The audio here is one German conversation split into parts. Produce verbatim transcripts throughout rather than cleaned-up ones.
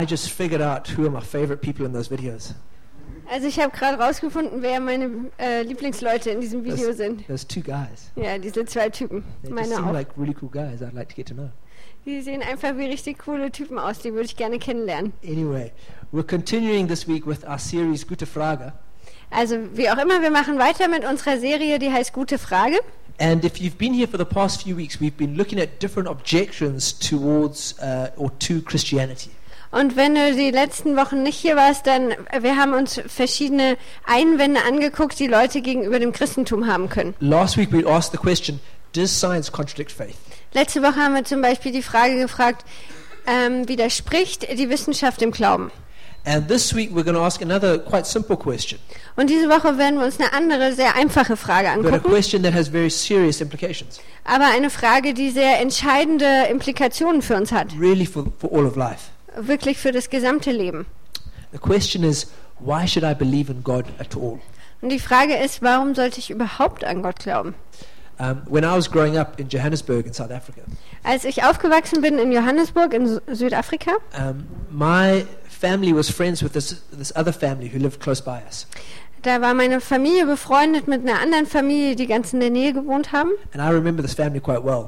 I just figured out who are my favorite people in those videos. Also ich habe gerade rausgefunden, wer meine äh, Lieblingsleute in diesem Video Those, sind. those two guys. Ja, diese zwei Typen. They just Meine seem auch. like really cool guys I'd like to get to know. Die sehen einfach wie richtig coole Typen aus, die würde ich gerne kennenlernen. Anyway, we're continuing this week with our series Gute Frage. Also wie auch immer, wir machen weiter mit unserer Serie, die heißt Gute Frage. And if you've been here for the past few weeks, we've been looking at different objections towards uh, or to Christianity. Und wenn du die letzten Wochen nicht hier warst, dann wir haben uns verschiedene Einwände angeguckt, die Leute gegenüber dem Christentum haben können. Last week we asked the question, does science contradict faith? Letzte Woche haben wir zum Beispiel die Frage gefragt, ähm, widerspricht die Wissenschaft dem Glauben? And this week we're going to ask another quite simple question, Und diese Woche werden wir uns eine andere, sehr einfache Frage but a angucken, question that has very serious implications, aber eine Frage, die sehr entscheidende Implikationen für uns hat, really for, for all of life. wirklich für das gesamte Leben. The question is, why should I believe in God at all? Und die Frage ist, warum sollte ich überhaupt an Gott glauben? Um, when I was growing up in Johannesburg in South Africa, Als ich aufgewachsen bin in Johannesburg in Su- Südafrika, um, my family was friends with this, this other family who lived close by us. da war meine Familie befreundet mit einer anderen Familie, die ganz in der Nähe gewohnt haben. And I remember this family quite well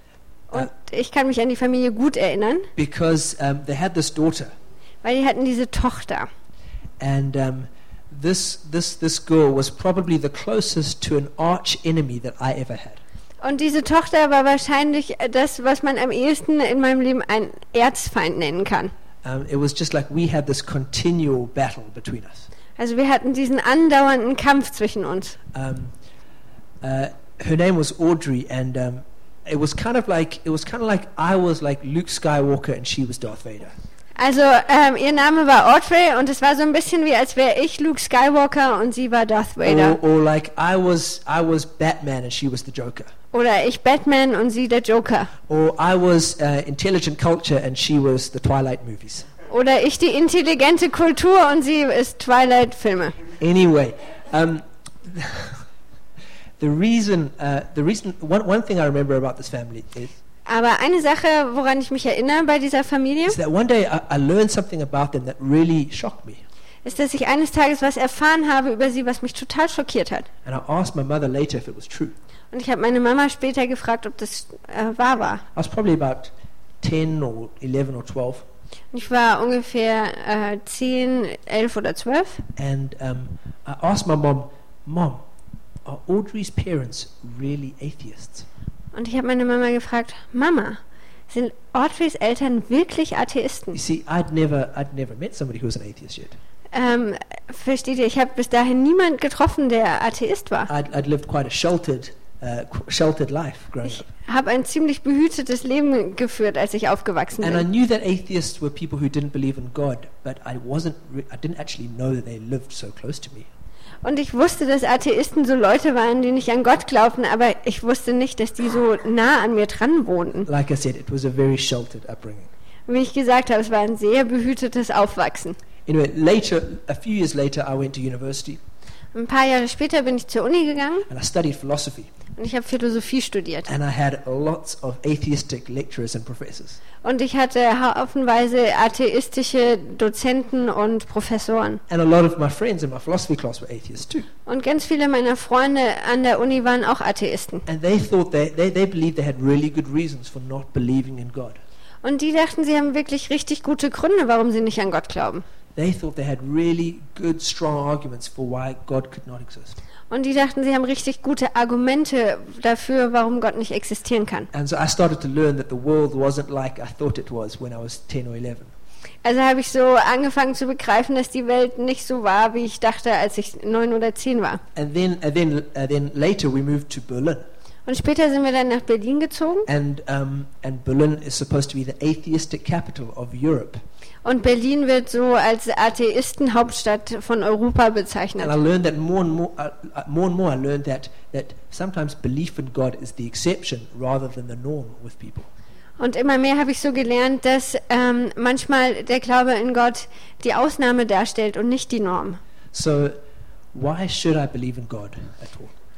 Und ich kann mich an die Familie gut erinnern, because um, they had this daughter, weil die hatten diese Tochter. and um, this, this, this girl was probably the closest to an arch enemy that I ever had. Und diese Tochter war wahrscheinlich das, was man am ehesten in meinem Leben einen Erzfeind nennen kann. Um, it was just like we had this continual battle between us. Also wir hatten diesen andauernden Kampf zwischen uns. Um, uh, her name was Audrey, and um, it was kind of like it was kind of like I was like Luke Skywalker and she was Darth Vader. Also ähm, ihr Name war Audrey und es war so ein bisschen wie, als wäre ich Luke Skywalker und sie war Darth Vader. Or, or like I was I was Batman and she was the Joker. Oder ich Batman und sie der Joker. Or I was uh, intelligent culture and she was the Twilight movies. Oder ich die intelligente Kultur und sie ist Twilight-Filme. Anyway, um, the reason uh, the reason one one thing I remember about this family is Aber eine Sache, woran ich mich erinnere bei dieser Familie, is that one day I, I learned something about them that really shocked me. ist, dass ich eines Tages was erfahren habe über sie, was mich total schockiert hat. And I asked my mother later if it was true. Und ich habe meine Mama später gefragt, ob das äh, wahr war. I was probably about ten or eleven or twelve. Und ich war ungefähr äh, zehn, elf oder zwölf. And um, I asked my mom, Mom, are Audrey's parents really atheists? Und ich habe meine Mama gefragt, Mama, sind Audreys Eltern wirklich Atheisten? You see, I'd never, I'd never met somebody who was an atheist yet. Ähm, versteht ihr, ich habe bis dahin niemand getroffen, der Atheist war. I'd, I'd lived quite a sheltered, uh, qu- sheltered life growing Ich up. habe ein ziemlich behütetes Leben geführt, als ich aufgewachsen And I bin. knew that atheists were people who didn't believe in God, but I wasn't, re- I didn't actually know that they lived so close to me. Und ich wusste, dass Atheisten so Leute waren, die nicht an Gott glaubten, aber ich wusste nicht, dass die so nah an mir dran wohnten. Like I said, it was a very sheltered upbringing. Wie ich gesagt habe, es war ein sehr behütetes Aufwachsen. Anyway, later, a few years later, I went to university Ein paar Jahre später bin ich zur Uni gegangen and I studied philosophy. und ich habe Philosophie studiert. And I had lots of atheistic lecturers and professors. Und ich hatte haufenweise atheistische Dozenten und Professoren. And a lot of my friends in my philosophy class were atheists too. Und ganz viele meiner Freunde an der Uni waren auch Atheisten. And they thought they, they, they believed they had really good reasons for not believing in God. Und die dachten, sie haben wirklich richtig gute Gründe, warum sie nicht an Gott glauben. They thought they had really good, strong arguments for why God could not exist. Und die dachten, sie haben richtig gute Argumente dafür, warum Gott nicht existieren kann. And so I started to learn that the world wasn't like I thought it was when I was ten or eleven. Also habe ich so angefangen zu begreifen, dass die Welt nicht so war, wie ich dachte, als ich neun oder zehn war. And then, and then, uh, then later we moved to Berlin. Und später sind wir dann nach Berlin gezogen. And, um, and Berlin is supposed to be the atheistic capital of Europe. Und Berlin wird so als Atheistenhauptstadt von Europa bezeichnet. And I learned that more and more, uh, uh, more and more I learned that, that sometimes belief in God is the exception rather than the norm with people. Und immer mehr habe ich so gelernt, dass ähm, manchmal der Glaube in Gott die Ausnahme darstellt und nicht die Norm. So why should I believe in God at all?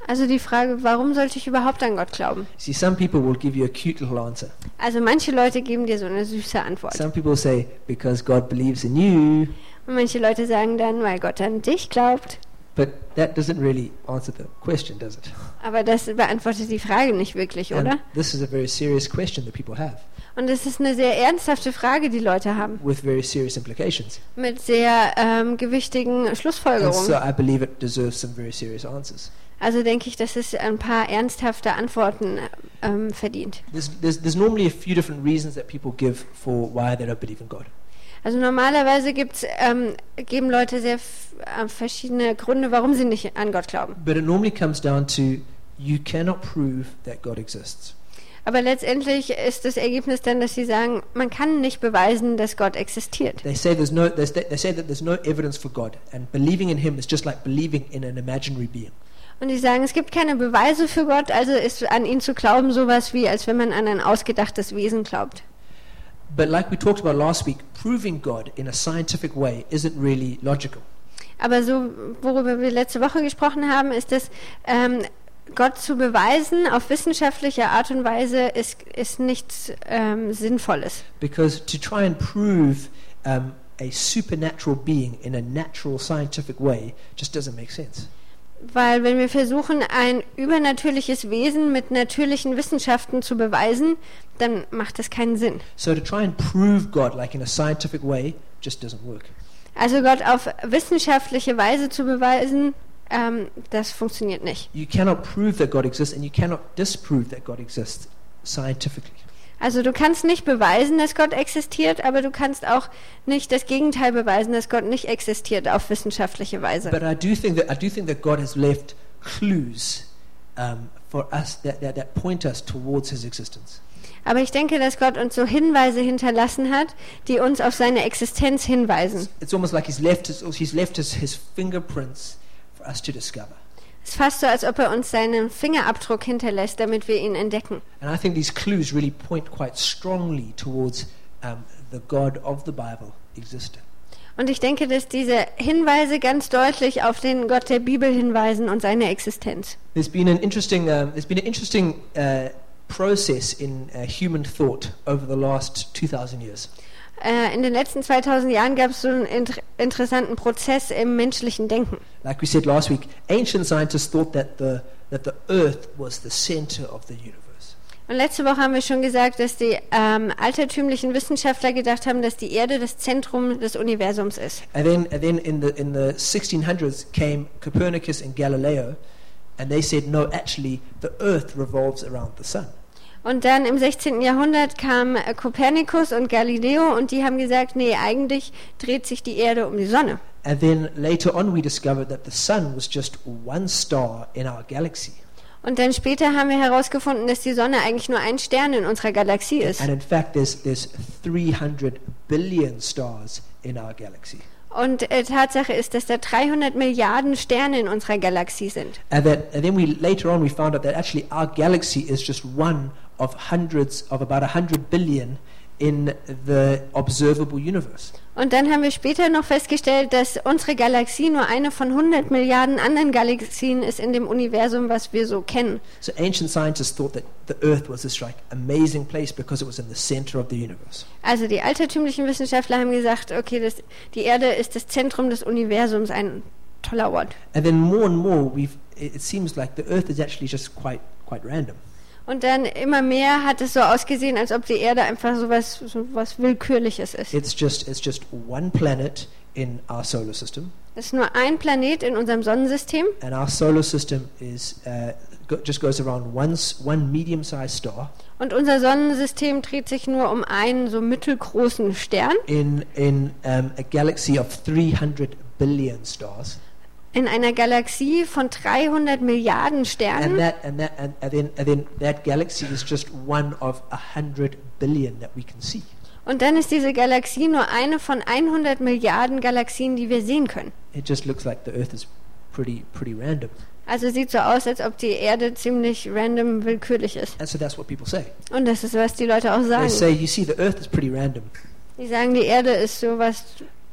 Also die Frage, warum sollte ich überhaupt an Gott glauben? See, some people will give you a cute little answer. Also manche Leute geben dir so eine süße Antwort. Some people say, because God believes in you. Und manche Leute sagen dann, weil Gott an dich glaubt. But that doesn't really answer the question, does it? Aber das beantwortet die Frage nicht wirklich, And oder? this is a very serious question that people have, Und es ist eine sehr ernsthafte Frage, die Leute haben, with very serious implications. mit sehr ähm, gewichtigen And Schlussfolgerungen. so I believe it deserves some very serious answers. Also denke ich, dass es ein paar ernsthafte Antworten ähm, verdient. There's, there's, there's normally a few different reasons that people give for why they don't believe in God. Also normalerweise gibt's, ähm, geben Leute sehr f- äh, verschiedene Gründe, warum sie nicht an Gott glauben. But it normally comes down to you cannot prove that God exists. Aber letztendlich ist das Ergebnis dann, dass sie sagen, man kann nicht beweisen, dass Gott existiert. They say there's no. They say, they say that there's no evidence for God, and believing in Him is just like believing in an imaginary being. Und die sagen, es gibt keine Beweise für Gott, also ist an ihn zu glauben sowas wie, als wenn man an ein ausgedachtes Wesen glaubt. But like we talked about last week, proving God in a scientific way isn't really logical. Aber so, worüber wir letzte Woche gesprochen haben, ist, dass ähm, Gott zu beweisen auf wissenschaftliche Art und Weise ist, ist nichts ähm, Sinnvolles. Because to try and prove um, a supernatural being in a natural scientific way just doesn't make sense. Weil wenn wir versuchen, ein übernatürliches Wesen mit natürlichen Wissenschaften zu beweisen, dann macht das keinen Sinn. So to try and prove God like in a scientific way just doesn't work. Also Gott auf wissenschaftliche Weise zu beweisen, ähm, das funktioniert nicht. You cannot prove that God exists, and you cannot disprove that God exists scientifically. Also du kannst nicht beweisen, dass Gott existiert, aber du kannst auch nicht das Gegenteil beweisen, dass Gott nicht existiert auf wissenschaftliche Weise. But I do think that I do think that God has left clues um, for us that, that that point us towards His existence. Aber ich denke, dass Gott uns so Hinweise hinterlassen hat, die uns auf seine Existenz hinweisen. It's almost like He's left His He's left His, his fingerprints for us to discover. Es ist fast so, als ob er uns seinen Fingerabdruck hinterlässt, damit wir ihn entdecken. And I think these clues really point quite strongly towards um, the God of the Bible existing. Und ich denke, dass diese Hinweise ganz deutlich auf den Gott der Bibel hinweisen und seine Existenz. There's been an interesting um, there's been an interesting uh, process in uh, human thought over the last two thousand years. Äh, in den letzten zweitausend Jahren gab es so einen inter- interessanten Prozess im menschlichen Denken. Like we said last week, ancient scientists thought that the that the Earth was the center of the universe. Und letzte Woche haben wir schon gesagt, dass die ähm, altertümlichen Wissenschaftler gedacht haben, dass die Erde das Zentrum des Universums ist. And then and then in the in the sixteen hundreds came Copernicus and Galileo, and they said no, actually the Earth revolves around the sun. Und dann im sechzehnten Jahrhundert kamen äh, Kopernikus und Galileo und die haben gesagt, nee, eigentlich dreht sich die Erde um die Sonne. And then later on we discovered that the sun was just one star in our galaxy. Und dann später haben wir herausgefunden, dass die Sonne eigentlich nur ein Stern in unserer Galaxie ist. And in fact there's there's three hundred billion stars in our galaxy. Und äh, Tatsache ist, dass da dreihundert Milliarden Sterne in unserer Galaxie sind. And that and then we later on we found out that actually our galaxy is just one of hundreds of about a hundred billion in the observable universe. Und dann haben wir später noch festgestellt, dass unsere Galaxie nur eine von hundert Milliarden anderen Galaxien ist in dem Universum, was wir so kennen. So ancient scientists thought that the Earth was this like amazing place because it was in the center of the universe. Also die altertümlichen Wissenschaftler haben gesagt, okay, das, die Erde ist das Zentrum des Universums, ein toller Ort. And then more and more we've it, it seems like the Earth is actually just quite quite random. Und dann immer mehr hat es so ausgesehen, als ob die Erde einfach so was, so was Willkürliches ist. It's just it's just one planet in our solar system, Es ist nur ein Planet in unserem Sonnensystem and our solar system is uh, go, just goes around one s- one medium-sized star und unser Sonnensystem dreht sich nur um einen so mittelgroßen Stern in in um, a galaxy of three hundred billion stars. in einer Galaxie von dreihundert Milliarden And Sternen. that and that and, and then and then that galaxy is just one of a hundred billion that we can see. Und dann ist diese Galaxie nur eine von hundert Milliarden Galaxien, die wir sehen können. It just looks like the Earth is pretty pretty random. Also sieht so aus, als ob die Erde ziemlich random willkürlich ist. And so that's what people say. Und das ist, was die Leute auch They sagen. say, you see, the Earth is pretty random. Die sagen, die Erde ist sowas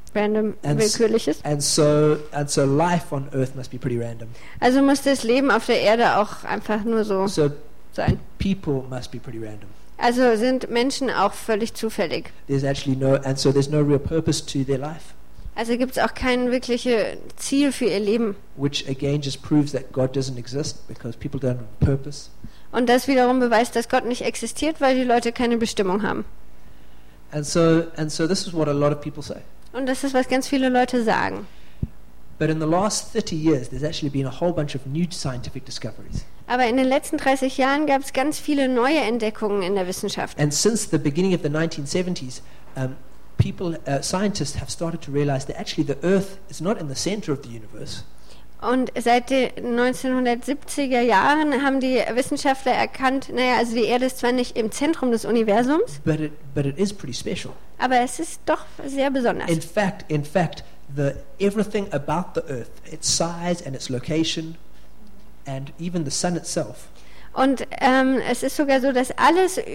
random, And, s- willkürliches. and so and so life on earth must be pretty random. Also muss das Leben auf der Erde auch einfach nur so So sein. people must be pretty random. Also sind Menschen auch völlig zufällig. There's actually no, and so there's no real purpose to their life, Also gibt es auch kein wirkliches Ziel für ihr Leben. which again just proves that God doesn't exist because people don't have a purpose. Und das wiederum beweist, dass Gott nicht existiert, weil die Leute keine Bestimmung haben. And so and so this is what a lot of people say. Und das ist, was ganz viele Leute sagen. But in the last thirty years, there's actually been a whole bunch of new scientific discoveries. Aber in den letzten dreißig Jahren gab es ganz viele neue Entdeckungen in der Wissenschaft. And since the beginning of the nineteen seventies, um, people, uh, scientists have started to realize that actually the Earth is not in the center of the universe, Und seit den neunzehnhundertsiebziger Jahren haben die Wissenschaftler erkannt, naja, also die Erde ist zwar nicht im Zentrum des Universums, but it, but it is pretty special. aber es ist doch sehr besonders. In fact, in fact, the, everything about the Earth, its size and its location, and even the sun itself, Und ähm, es ist sogar so, dass alles, äh,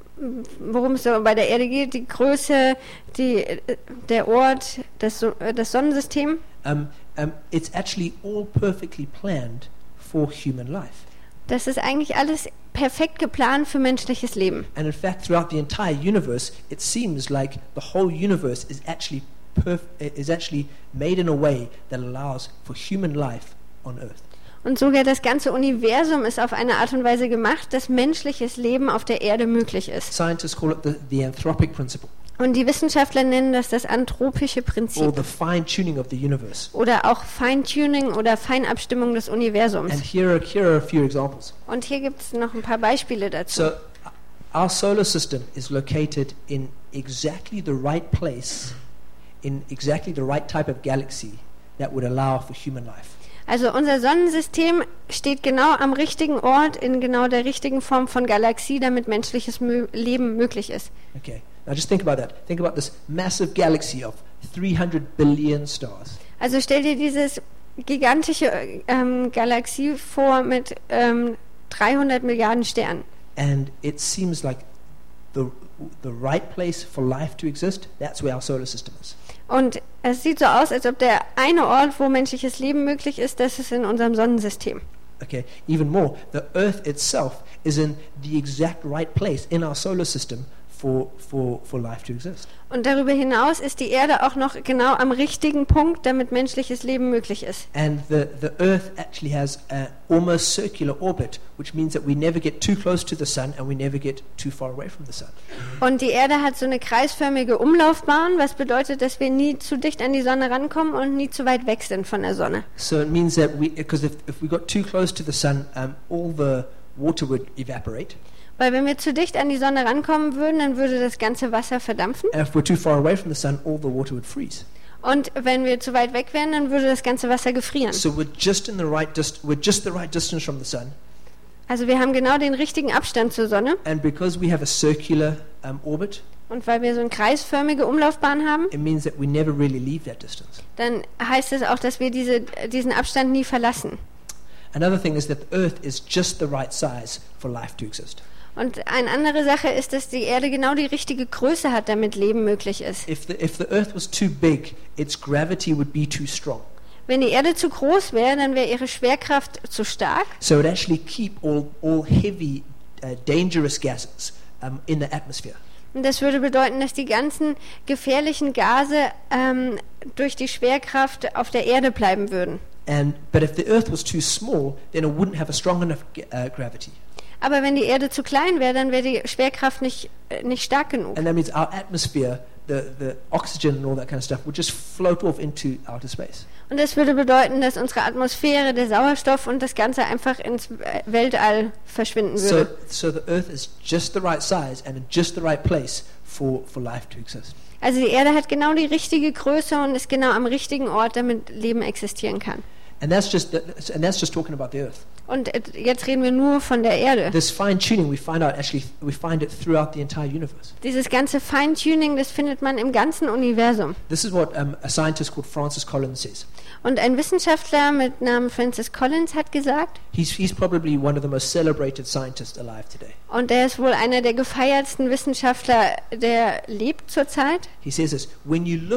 worum es so bei der Erde geht, die Größe, die, äh, der Ort, das, So- äh, das Sonnensystem, um, um, it's actually all perfectly planned for human life. das ist eigentlich alles perfekt geplant für menschliches Leben. And in fact, throughout the entire universe, it seems like the whole universe is actually perf- is actually made in a way that allows for human life on Earth. Und sogar das ganze Universum ist auf eine Art und Weise gemacht, dass menschliches Leben auf der Erde möglich ist. Scientists call it the, the anthropic principle, Und die Wissenschaftler nennen das das anthropische or Prinzip the fine-tuning of the universe. oder auch Feintuning oder Feinabstimmung des Universums. And here are, here are a few examples. Und hier gibt es noch ein paar Beispiele dazu. So, our solar system is located in exactly the right place, in exactly the right type of galaxy that would allow for human life. Also unser Sonnensystem steht genau am richtigen Ort in genau der richtigen Form von Galaxie, damit menschliches Mö- Leben möglich ist. Okay, now just think about that. Think about this massive galaxy of three hundred billion stars. Also stell dir dieses gigantische ähm, Galaxie vor mit ähm, dreihundert Milliarden Sternen. And it seems like the, the right place for life to exist, that's where our solar system is. Und es sieht so aus, als ob der eine Ort, wo menschliches Leben möglich ist, das ist in unserem Sonnensystem. Okay, even more, the Earth itself is in the exact right place in our solar system for, for, for life to exist. Und darüber hinaus ist die Erde auch noch genau am richtigen Punkt, damit menschliches Leben möglich ist. And the, the Earth actually has a almost circular orbit, which means that we never get too close to the sun and we never get too far away from the sun. Und die Erde hat so eine kreisförmige Umlaufbahn, was bedeutet, dass wir nie zu dicht an die Sonne rankommen und nie zu weit weg sind von der Sonne. So it means that we, because if, if we got too close to the sun, um, all the water would evaporate. Weil wenn wir zu dicht an die Sonne rankommen würden, dann würde das ganze Wasser verdampfen. And if we're too far away from the sun, all the water would freeze. Und wenn wir zu weit weg wären, dann würde das ganze Wasser gefrieren. So we're just in the right dist- we're just the right distance from the sun, Also wir haben genau den richtigen Abstand zur Sonne. and because we have a circular um, orbit, Und weil wir so eine kreisförmige Umlaufbahn haben, it means that we never really leave that distance. dann heißt es auch, dass wir diese, diesen Abstand nie verlassen. Another thing is that the Earth is just the right size for life to exist. Und eine andere Sache ist, dass die Erde genau die richtige Größe hat, damit Leben möglich ist. If the, if the Earth was too big, its gravity would be too strong. Wenn die Erde zu groß wäre, dann wäre ihre Schwerkraft zu stark. So it would actually keep all, all heavy, uh, dangerous gases um, in the atmosphere. Und das würde bedeuten, dass die ganzen gefährlichen Gase ähm, durch die Schwerkraft auf der Erde bleiben würden. And, but if the Earth was too small, then it wouldn't have a strong enough uh, gravity. Aber wenn die Erde zu klein wäre, dann wäre die Schwerkraft nicht, äh, nicht stark genug. And that means our atmosphere, the, the oxygen and all that kind of stuff, would just float off into outer space. Und das würde bedeuten, dass unsere Atmosphäre, der Sauerstoff und das Ganze einfach ins Weltall verschwinden So, würde. so the Earth is just the right size and in just the right place for, for life to exist. Also die Erde hat genau die richtige Größe und ist genau am richtigen Ort, damit Leben existieren kann. And that's just the, and that's just talking about the Earth. Und äh, jetzt reden wir nur von der Erde. This fine tuning we find out actually we find it throughout the entire universe. Dieses ganze Feintuning, das findet man im ganzen Universum. This is what um, a scientist called Francis Collins says. Und ein Wissenschaftler mit Namen Francis Collins hat gesagt, He's he's probably one of the most celebrated scientists alive today. und er ist wohl einer der gefeiertsten Wissenschaftler, der lebt zurzeit. He says this: when you look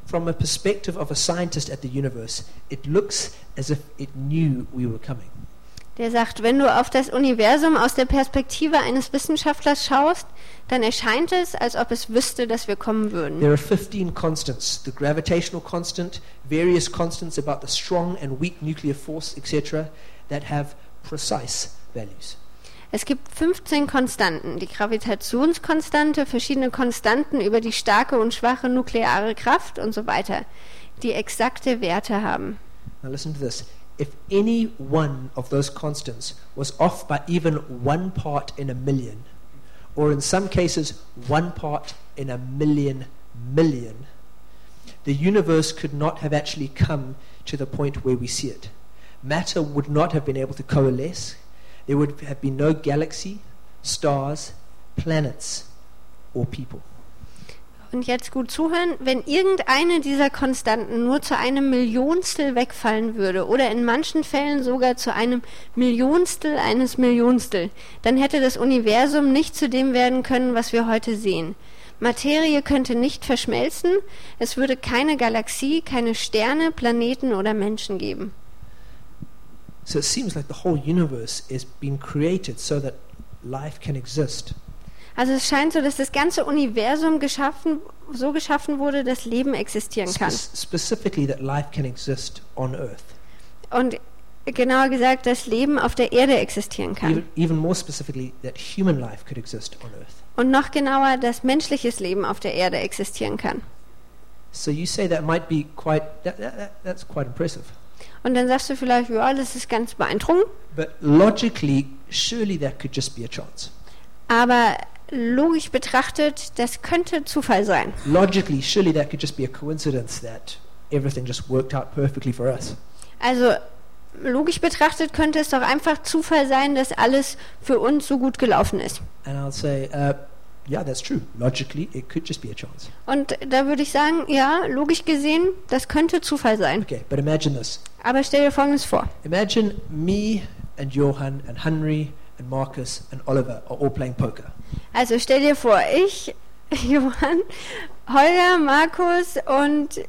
from a perspective of a scientist at the universe, it looks as if it knew we were coming. Der sagt, wenn du auf das Universum aus der Perspektive eines Wissenschaftlers schaust, dann erscheint es, als ob es wüsste, dass wir kommen würden. There are fifteen constants: the gravitational constant, various constants about the strong and weak nuclear force, et cetera, that have precise values. Es gibt fünfzehn Konstanten, die Gravitationskonstante, verschiedene Konstanten über die starke und schwache nukleare Kraft und so weiter, die exakte Werte haben. Now listen to this. If any one of those constants was off by even one part in a million, or in some cases one part in a million million, the universe could not have actually come to the point where we see it. Matter would not have been able to coalesce. There would have been no galaxy, stars, planets, or people. Und jetzt gut zuhören, wenn irgendeine dieser Konstanten nur zu einem Millionstel wegfallen würde oder in manchen Fällen sogar zu einem Millionstel eines Millionstel, dann hätte das Universum nicht zu dem werden können, was wir heute sehen. Materie könnte nicht verschmelzen, es würde keine Galaxie, keine Sterne, Planeten oder Menschen geben. So it seems like the whole universe is being created so that life can exist. Also es scheint so, dass das ganze Universum geschaffen, so geschaffen wurde, dass Leben existieren kann. Spe- specifically that life can exist on Earth. Und genauer gesagt, dass Leben auf der Erde existieren kann. Even, even more specifically that human life could exist on Earth. Und noch genauer, dass menschliches Leben auf der Erde existieren kann. So you say that might be quite, that, that, that, that's quite impressive. Und dann sagst du vielleicht, ja, das ist ganz beeindruckend. But logically, surely that could just be a chance. Aber logisch betrachtet, das könnte Zufall sein. Logically, surely that could just be a coincidence that everything just worked out perfectly for us. Also logisch betrachtet könnte es doch einfach Zufall sein, dass alles für uns so gut gelaufen ist. And I'll say, uh, yeah, that's true. Logically, it could just be a chance. Und da würde ich sagen, ja, logisch gesehen, das könnte Zufall sein. Okay, but imagine this. Aber stell dir Folgendes vor. Imagine me and Johan and Henry and Marcus and Oliver are all playing poker. Also stell dir vor, ich, Johann, Holger, Markus und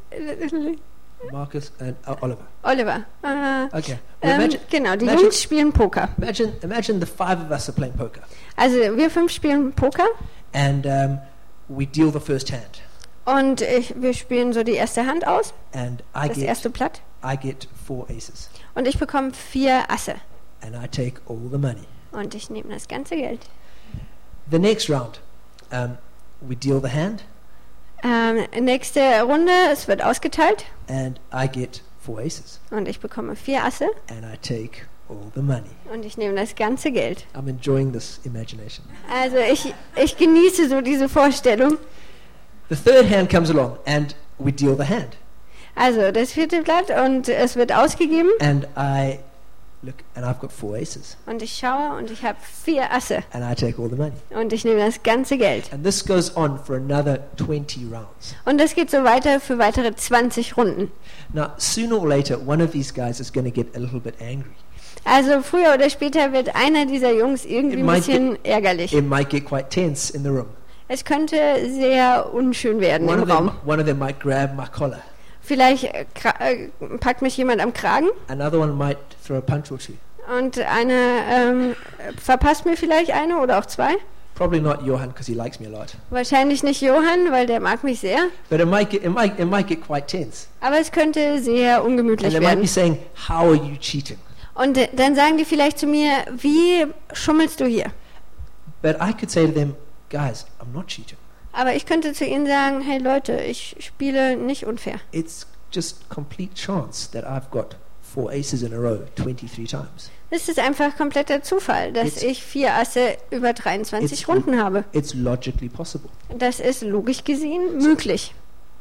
Marcus and uh, Oliver. Oliver. Äh, Okay. Well, ähm, imagine, genau, die imagine- Jungs spielen Poker. imagine, imagine the five of us are playing poker, Also wir fünf spielen Poker and um, we deal the first hand, und ich, wir spielen so die erste Hand aus, and I das get erste Blatt. I get four aces, Und ich bekomme vier Asse. and I take all the money. Und ich nehme das ganze Geld. The next round, um, we deal the hand, Ähm, nächste Runde, es wird ausgeteilt and I get four aces, und ich bekomme vier Asse and I take all the money. und ich nehme das ganze Geld. I'm enjoying this imagination. Also ich, ich genieße so diese Vorstellung. The third hand comes along, and we deal the hand, Also das vierte Blatt und es wird ausgegeben and I look, and I've got four aces, und ich schaue und ich habe vier Asse and I take all the money. und ich nehme das ganze Geld. And this goes on for another twenty rounds. Und das geht so weiter für weitere zwanzig Runden. Now, sooner or later, one of these guys is going to get a little bit angry. Also früher oder später wird einer dieser Jungs irgendwie It ein might bisschen ärgerlich. It might get quite tense in the room. Es könnte sehr unschön werden One im of them, Raum. one of them might grab my collar. Vielleicht äh, kra- äh, packt mich jemand am Kragen Another one might throw a punch or two. und eine ähm, verpasst mir vielleicht eine oder auch zwei. Probably not Johan because he likes me a lot. Wahrscheinlich nicht Johann, weil der mag mich sehr. But it might get, it might, it might get quite tense. Aber es könnte sehr And ungemütlich they might be werden. saying, "How are you cheating?" Und äh, dann sagen die vielleicht zu mir, wie schummelst du hier? But I could say to them, "Guys, I'm not cheating. Aber ich könnte zu ihnen sagen, hey Leute, ich spiele nicht unfair. It's just complete chance that I've got four aces in a row twenty-three times. Es ist einfach kompletter Zufall, dass It's- ich vier Asse über dreiundzwanzig It's- Runden habe. It's logically possible." Das ist logisch gesehen möglich.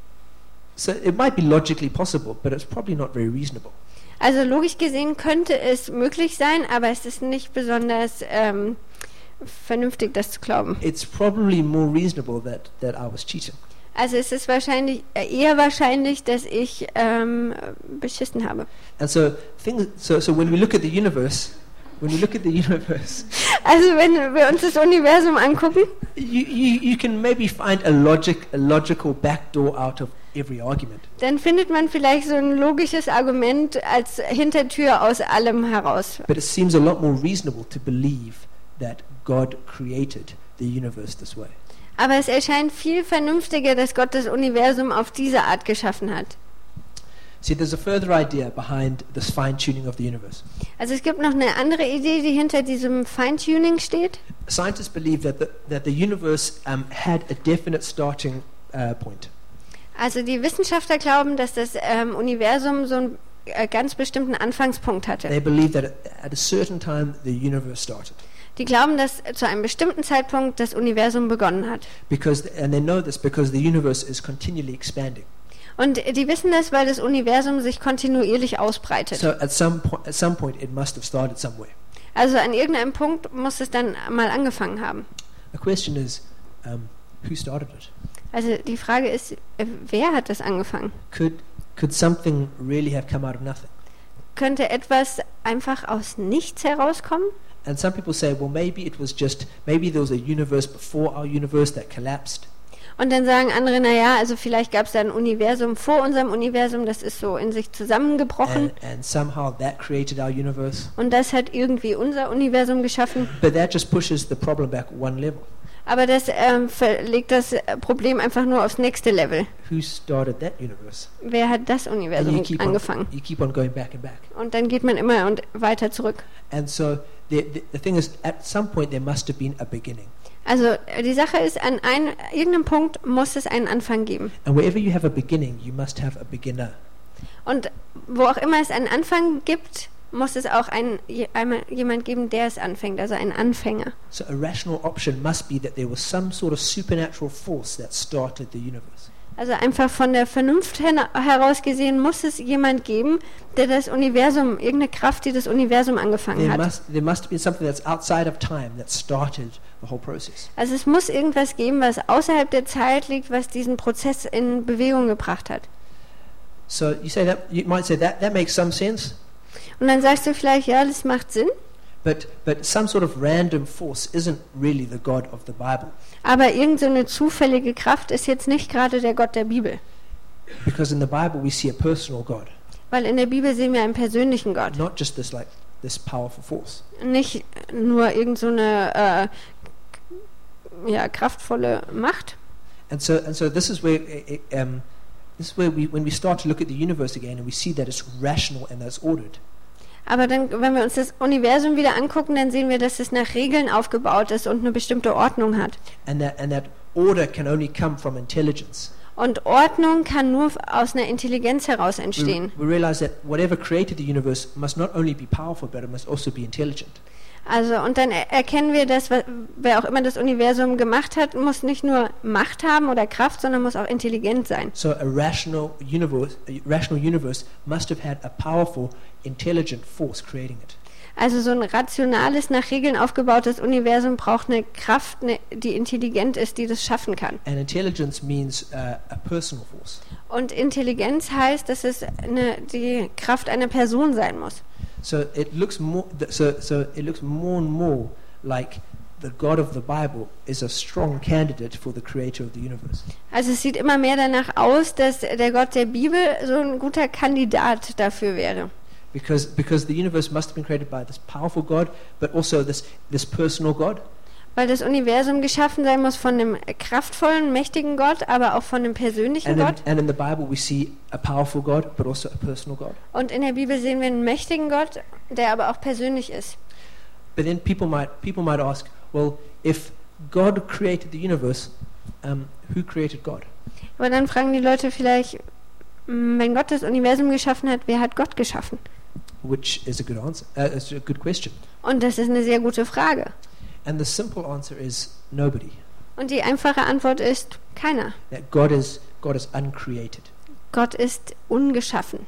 So it might be logically possible, but it's probably not very reasonable. Also logisch gesehen könnte es möglich sein, aber es ist nicht besonders ähm, vernünftig, das zu glauben. It's probably more reasonable that, that I was cheating. Also es ist wahrscheinlich äh, eher wahrscheinlich, dass ich ähm, beschissen habe. And so things so so when we look at the universe, when we look at the universe, Also wenn wir uns das Universum angucken, you, you, you can maybe find a logic a logical backdoor out of every argument. dann findet man vielleicht so ein logisches Argument als Hintertür aus allem heraus. But it seems a lot more reasonable to believe that God created the universe this way. Aber es erscheint viel vernünftiger, dass Gott das Universum auf diese Art geschaffen hat. See, there's a further idea behind this fine-tuning of the universe. Also es gibt noch eine andere Idee, die hinter diesem Feintuning steht. Scientists believe that the, that the universe um, had a definite starting uh, point. Also die Wissenschaftler glauben, dass das ähm, Universum so einen äh, ganz bestimmten Anfangspunkt hatte. They believe that at a certain time the universe started. Die glauben, dass zu einem bestimmten Zeitpunkt das Universum begonnen hat. Because, and they know this because the universe is continually expanding. Und die wissen das, weil das Universum sich kontinuierlich ausbreitet. So at some point, at some point, it must have started somewhere. Also an irgendeinem Punkt muss es dann mal angefangen haben. The question is, um, who started it? Also die Frage ist, äh, wer hat das angefangen? Could could something really have come out of nothing? Könnte etwas einfach aus nichts herauskommen? And some people say, well, maybe it was just maybe there was a universe before our universe that collapsed. Und dann sagen andere, naja, also vielleicht gab es da ein Universum vor unserem Universum, das ist so in sich zusammengebrochen. And, and somehow that created our universe. Und das hat irgendwie unser Universum geschaffen. But that just pushes the problem back one level. Aber das ähm, verlegt das Problem einfach nur aufs nächste Level. Who started that universe? Wer hat das And Universum you keep angefangen? on, you keep on going back and back. Und dann geht man immer und weiter zurück. And so the, the the thing is, at some point there must have been a beginning. Also die Sache ist, an ein, irgendeinem Punkt muss es einen Anfang geben. And wherever you have a beginning, you must have a beginner. Und wo auch immer es einen Anfang gibt, muss es auch einen, einmal jemand geben, der es anfängt, also einen Anfänger. So a rational option must be that there was some sort of supernatural force that started the universe. Also einfach von der Vernunft her heraus gesehen, muss es jemand geben, der das Universum, irgendeine Kraft, die das Universum angefangen There hat. must, there must have been something that's outside of time that started the whole process. Also es muss irgendwas geben, was außerhalb der Zeit liegt, was diesen Prozess in Bewegung gebracht hat. So you say that you might say that that makes some sense, Und dann sagst du vielleicht, ja, das macht Sinn, but but some sort of random force isn't really the God of the Bible, aber irgend so eine zufällige Kraft ist jetzt nicht gerade der Gott der Bibel. because in the Bible we see a personal God, Weil in der Bibel sehen wir einen persönlichen Gott. not just this like this powerful force. Nicht nur irgend so eine äh, ja, kraftvolle Macht. And so and so this is where uh, um, this is where we when we start to look at the universe again and we see that it's rational and that it's ordered. Aber dann, wenn wir uns das Universum wieder angucken, dann sehen wir, dass es nach Regeln aufgebaut ist und eine bestimmte Ordnung hat. And that and that order can only come from intelligence. Und Ordnung kann nur aus einer Intelligenz heraus entstehen. We, we realize that whatever created the universe must not only be powerful, but it must also be intelligent. Also, und dann er erkennen wir, dass wa- wer auch immer das Universum gemacht hat, muss nicht nur Macht haben oder Kraft, sondern muss auch intelligent sein. So a rational universe, a rational universe must have had a powerful, intelligent force creating it. Also so ein rationales, nach Regeln aufgebautes Universum braucht eine Kraft, eine, die intelligent ist, die das schaffen kann. And intelligence means uh, a personal force. Und Intelligenz heißt, dass es eine, die Kraft einer Person sein muss. So it looks more. th- So so it looks more and more like the God of the Bible is a strong candidate for the Creator of the universe. Also es sieht immer mehr danach aus, dass der Gott der Bibel so ein guter Kandidat dafür wäre. Because, because the universe must have been created by this powerful God, but also this, this personal God. Weil das Universum geschaffen sein muss von einem kraftvollen, mächtigen Gott, aber auch von einem persönlichen And in, Gott. and in the Bible we see a powerful God, but also a personal God. Und in der Bibel sehen wir einen mächtigen Gott, der aber auch persönlich ist. But then people might, people might ask, well, if God created the universe, um, who created God? Aber dann fragen die Leute vielleicht, mm, wenn Gott das Universum geschaffen hat, wer hat Gott geschaffen? Which is a good answer. Uh, it's a good question. Und das ist eine sehr gute Frage. And the simple answer is nobody. Und die einfache Antwort ist keiner. That God is God is uncreated. Gott ist ungeschaffen.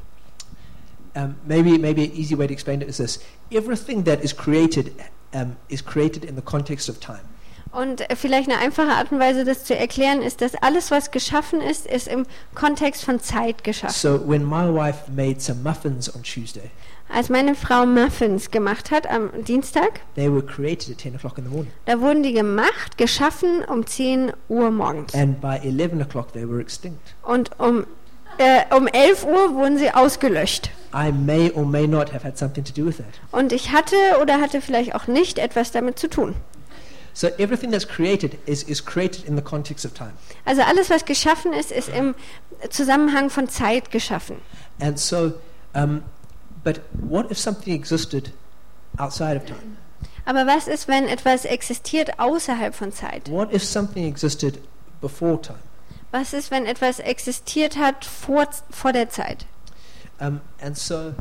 Um, maybe maybe an easy way to explain it is this: everything that is created um, is created in the context of time. Und äh, vielleicht eine einfache Art und Weise, das zu erklären, ist, dass alles, was geschaffen ist, ist im Kontext von Zeit geschaffen. So when my wife made some muffins on Tuesday, Als meine Frau Muffins gemacht hat am Dienstag, they were created at ten o'clock in the morning. da wurden die gemacht, geschaffen um zehn Uhr morgens. And by eleven o'clock they were extinct. Und um, äh, um elf Uhr wurden sie ausgelöscht. I may or may not have had something to do with that. Und ich hatte oder hatte vielleicht auch nicht etwas damit zu tun. So everything that's created is, is created in the context of time. Also alles, was geschaffen ist, ist im Zusammenhang von Zeit geschaffen. And so, um, but what if something existed outside of time? Aber was ist, wenn etwas existiert außerhalb von Zeit? What if something existed before time? Was ist, wenn etwas existiert hat vor, vor der Zeit? Um, and so,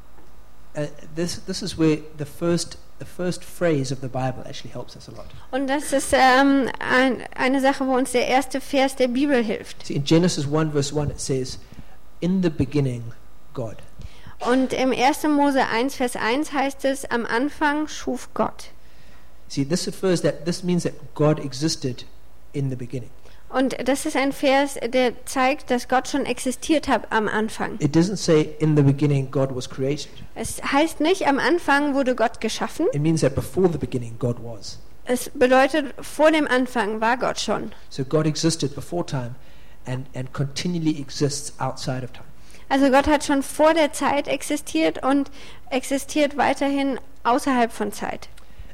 uh, this this is where the first the first phrase of the Bible actually helps us a lot. Und das ist ähm, ein, eine Sache, wo uns der erste Vers der Bibel hilft. See, in Genesis one verse one it says, "In the beginning, God." Und im ersten Mose eins Vers eins heißt es, am Anfang schuf Gott. See, this refers that this means that God existed in the beginning. Und das ist ein Vers, der zeigt, dass Gott schon existiert hat am Anfang. It doesn't say in the beginning God was created. Es heißt nicht, am Anfang wurde Gott geschaffen. It means that before the beginning God was. Es bedeutet, vor dem Anfang war Gott schon. So God existed before time and, and continually exists outside of time. Also Gott hat schon vor der Zeit existiert und existiert weiterhin außerhalb von Zeit.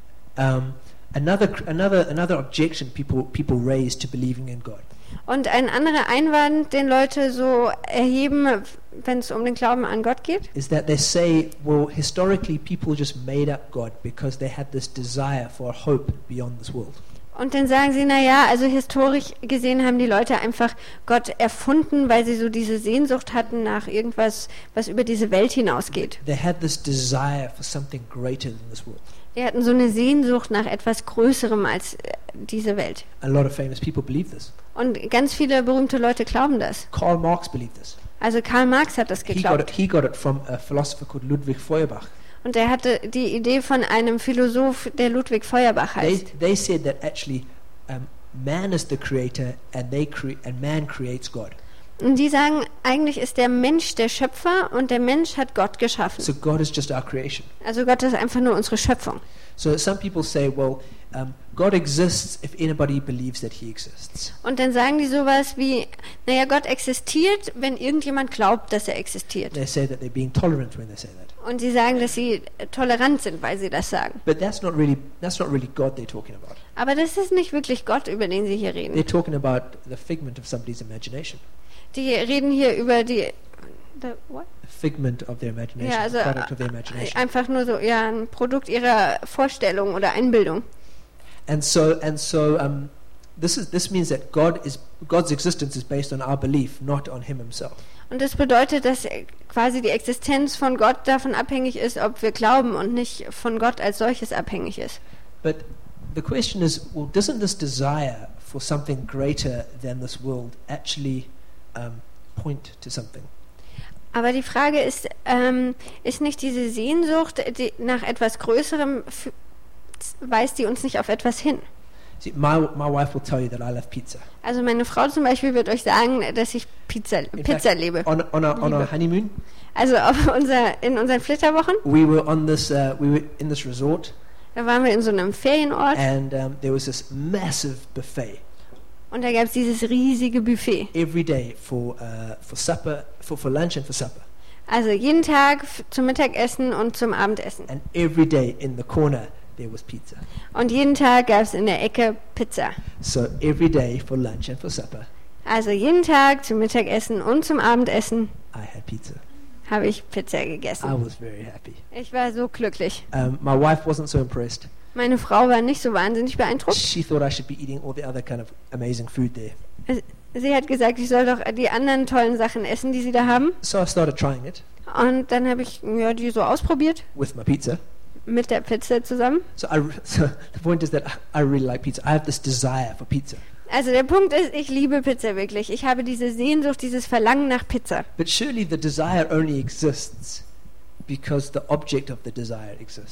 Um, another another another objection people people raise to believing in God Und ein anderer Einwand, den Leute so erheben, wenn es um den Glauben an Gott geht, is that they say, well, historically people just made up God because they had this desire for a hope beyond this world. und dann sagen sie, naja, also historisch gesehen haben die Leute einfach Gott erfunden, weil sie so diese Sehnsucht hatten nach irgendwas, was über diese Welt hinausgeht. They had this desire for something greater than this world. Die hatten so eine Sehnsucht nach etwas Größerem als äh, diese Welt. A lot of famous people believe this. Und ganz viele berühmte Leute glauben das. Karl Marx believed this. Also Karl Marx hat das He got geglaubt. it, he got it from a philosopher called Ludwig Feuerbach. Und er hatte die Idee von einem Philosoph, der Ludwig Feuerbach They, heißt. they said that actually um, man is the creator and they cre- and man creates God. Und die sagen, eigentlich ist der Mensch der Schöpfer und der Mensch hat Gott geschaffen. So God is just our creation. Also Gott ist einfach nur unsere Schöpfung. So some people say, well, um, God exists if anybody believes that he exists. Und dann sagen die sowas wie, naja, Gott existiert, wenn irgendjemand glaubt, dass er existiert. They say that they're being tolerant when they say that. Und sie sagen, dass sie tolerant sind, weil sie das sagen. But that's not really that's not really God they're talking about. Aber das ist nicht wirklich Gott, über den sie hier reden. They're talking about the figment of somebody's imagination. Die reden hier über die... The what? Figment of their imagination, Ja, also the product of their imagination. einfach nur so, ja, ein Produkt ihrer Vorstellung oder Einbildung. And so and so um, this is this means that God is God's existence is based on our belief, not on him himself. Und das bedeutet, dass quasi die Existenz von Gott davon abhängig ist, ob wir glauben und nicht von Gott als solches abhängig ist. But the question is, well, doesn't this desire for something greater than this world actually um, point to something? Aber die Frage ist, ähm, ist nicht diese Sehnsucht die nach etwas Größerem, f- weist die uns nicht auf etwas hin? See, my my wife will tell you that I love pizza. Also meine Frau zum Beispiel wird euch sagen, dass ich Pizza, In Pizza fact, liebe. On on our, on our Liebe. honeymoon, Also auf unser, in unseren Flitterwochen, we were on this uh, we were in this resort, da waren wir in so einem Ferienort and um, there was this massive buffet und da gab es dieses riesige Buffet. every day for uh, for supper, for for lunch and for supper, Also jeden Tag f- zum Mittagessen und zum Abendessen. and every day in the corner there was pizza. Und jeden Tag gab es in der Ecke Pizza. So every day for lunch and for supper, Also jeden Tag zum Mittagessen und zum Abendessen I had pizza. habe ich Pizza I gegessen. was very happy. Ich war so glücklich. Um, my wife wasn't so impressed. Meine Frau war nicht so wahnsinnig beeindruckt. She thought I should be eating all the other kind of amazing food there. Sie hat gesagt, ich soll doch die anderen tollen Sachen essen, die sie da haben. So I started trying it Und dann habe ich ja, die so ausprobiert with my pizza. mit der Pizza zusammen. So, I, so the point is that I really like pizza. I have this desire for pizza. Also der Punkt ist, ich liebe Pizza wirklich. Ich habe diese Sehnsucht, dieses Verlangen nach Pizza. But surely the desire only exists because the object of the desire exists.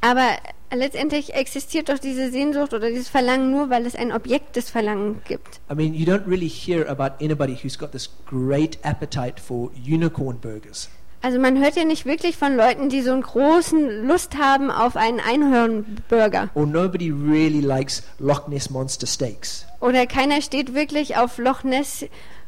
Aber letztendlich existiert doch diese Sehnsucht oder dieses Verlangen nur, weil es ein Objekt des Verlangens gibt. I mean, you don't really hear about anybody who's got this great appetite for unicorn burgers. Also man hört ja nicht wirklich von Leuten, die so einen großen Lust haben auf einen Einhornburger. Or nobody really likes Loch Ness Monster steaks. Oder keiner steht wirklich auf Loch Ness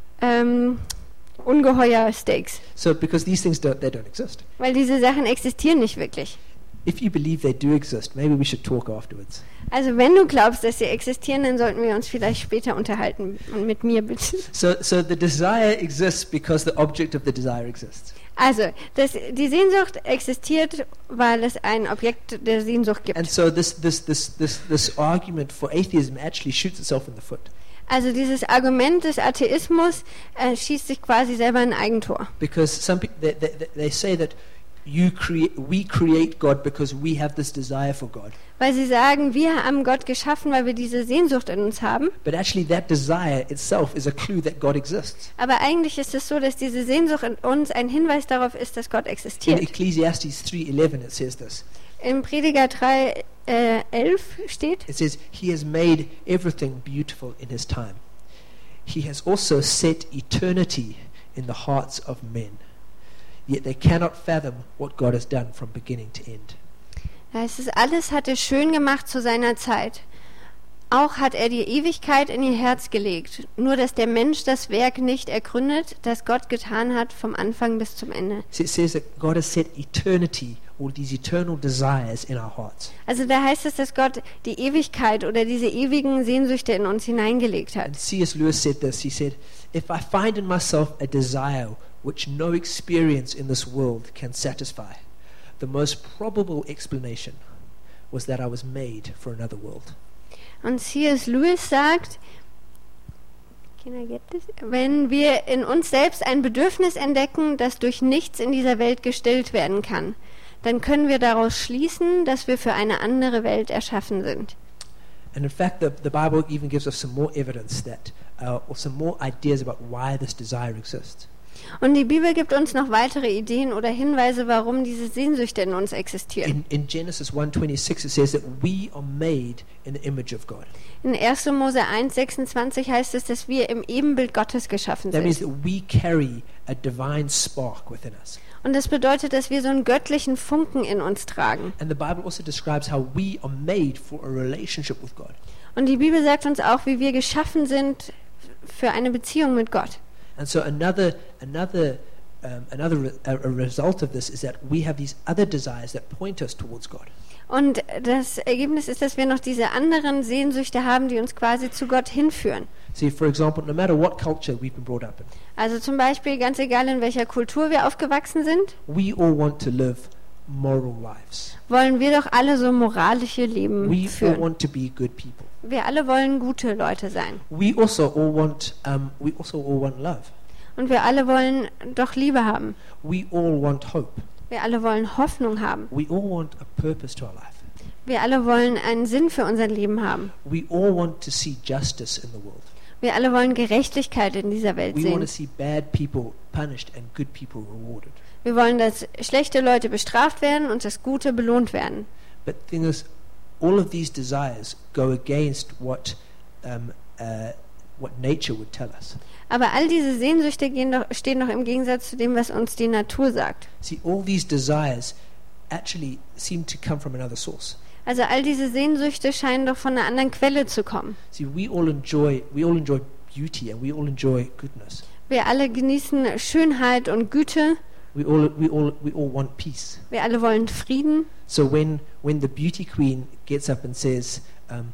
ähm, Ungeheuer-Steaks. So because these things don't, they don't exist. Weil diese Sachen existieren nicht wirklich. If you believe they do exist, maybe we should talk afterwards. Also wenn du glaubst, dass sie existieren, dann sollten wir uns vielleicht später unterhalten. Und mit mir bitte. So, so the desire exists because the object of the desire exists. Also, das, die Sehnsucht existiert, weil es ein Objekt der Sehnsucht gibt. And so this, this, this, this, this argument for atheism actually shoots itself in the foot. Also dieses Argument des Atheismus äh, schießt sich quasi selber ein Eigentor. Because some people, they, they, they say that you create, we create God because we have this desire for God. Weil sie sagen, wir haben Gott geschaffen, weil wir diese Sehnsucht in uns haben. But actually that desire itself is a clue that God exists. Aber eigentlich ist es so, dass diese Sehnsucht in uns ein Hinweis darauf ist, dass Gott In existiert. Ecclesiastes three eleven it says this. Im Prediger drei elf steht, It says, He has made everything beautiful in His time. He has also set eternity in the hearts of men. Yet they cannot fathom what God has done from beginning to end. da heißt es, alles hat er schön gemacht zu seiner Zeit. Auch hat er die Ewigkeit in ihr Herz gelegt. Nur, dass der Mensch das Werk nicht ergründet, das Gott getan hat, vom Anfang bis zum Ende. So it says that God has set eternity, or these eternal desires in our hearts. Also da heißt es, dass Gott die Ewigkeit oder diese ewigen Sehnsüchte in uns hineingelegt hat. And C S Lewis said this. He said, if I find in myself a desire which no experience in this world can satisfy, the most probable explanation was that I was made for another world. Und C S Lewis sagt, can I get this? Wenn wir in uns selbst ein Bedürfnis entdecken, das durch nichts in dieser Welt gestillt werden kann, dann können wir daraus schließen, dass wir für eine andere Welt erschaffen sind. And in fact, the, the Bible even gives us some more evidence that, uh, or some more ideas about why this desire exists. Und die Bibel gibt uns noch weitere Ideen oder Hinweise, warum diese Sehnsüchte in uns existieren. In, in Genesis one twenty-six, it says that we are made in the image of God. In erster Mose eins sechsundzwanzig heißt es, dass wir im Ebenbild Gottes geschaffen That means sind. that we carry a divine spark within us. Und das bedeutet, dass wir so einen göttlichen Funken in uns tragen. And the Bible also describes how we are made for a relationship with God. Und die Bibel sagt uns auch, wie wir geschaffen sind für eine Beziehung mit Gott. And so another another um, another re- a, a result of this is that we have these other desires that point us towards God. Und das Ergebnis ist, dass wir noch diese anderen Sehnsüchte haben, die uns quasi zu Gott hinführen. See, for example, no matter what culture we've been brought up in, Also zum Beispiel, ganz egal in welcher Kultur wir aufgewachsen sind, we all want to live moral lives. wollen wir doch alle so moralische Leben We all führen. want to be good people. Wir alle wollen gute Leute sein. We also all want um, we also all want love. Und wir alle wollen doch Liebe haben. We all want hope. Wir alle wollen Hoffnung haben. We all want a purpose to our life. Wir alle wollen einen Sinn für unser Leben haben. We all want to see justice in the world. Wir alle wollen Gerechtigkeit in dieser Welt We want to sehen. see bad people punished and good people rewarded. Wir wollen, dass schlechte Leute bestraft werden und dass gute belohnt werden. But the thing is, all of these desires go against what um, uh, what nature would tell us. Aber all diese Sehnsüchte gehen doch, stehen doch im Gegensatz zu dem, was uns die Natur sagt. See, all these desires actually seem to come from another source. Also all diese Sehnsüchte scheinen doch von einer anderen Quelle zu kommen. See, we all enjoy we all enjoy beauty and we all enjoy goodness. Wir alle genießen Schönheit und Güte. We all we all we all want peace. Wir alle wollen Frieden. So when when the beauty queen gets up and says, um,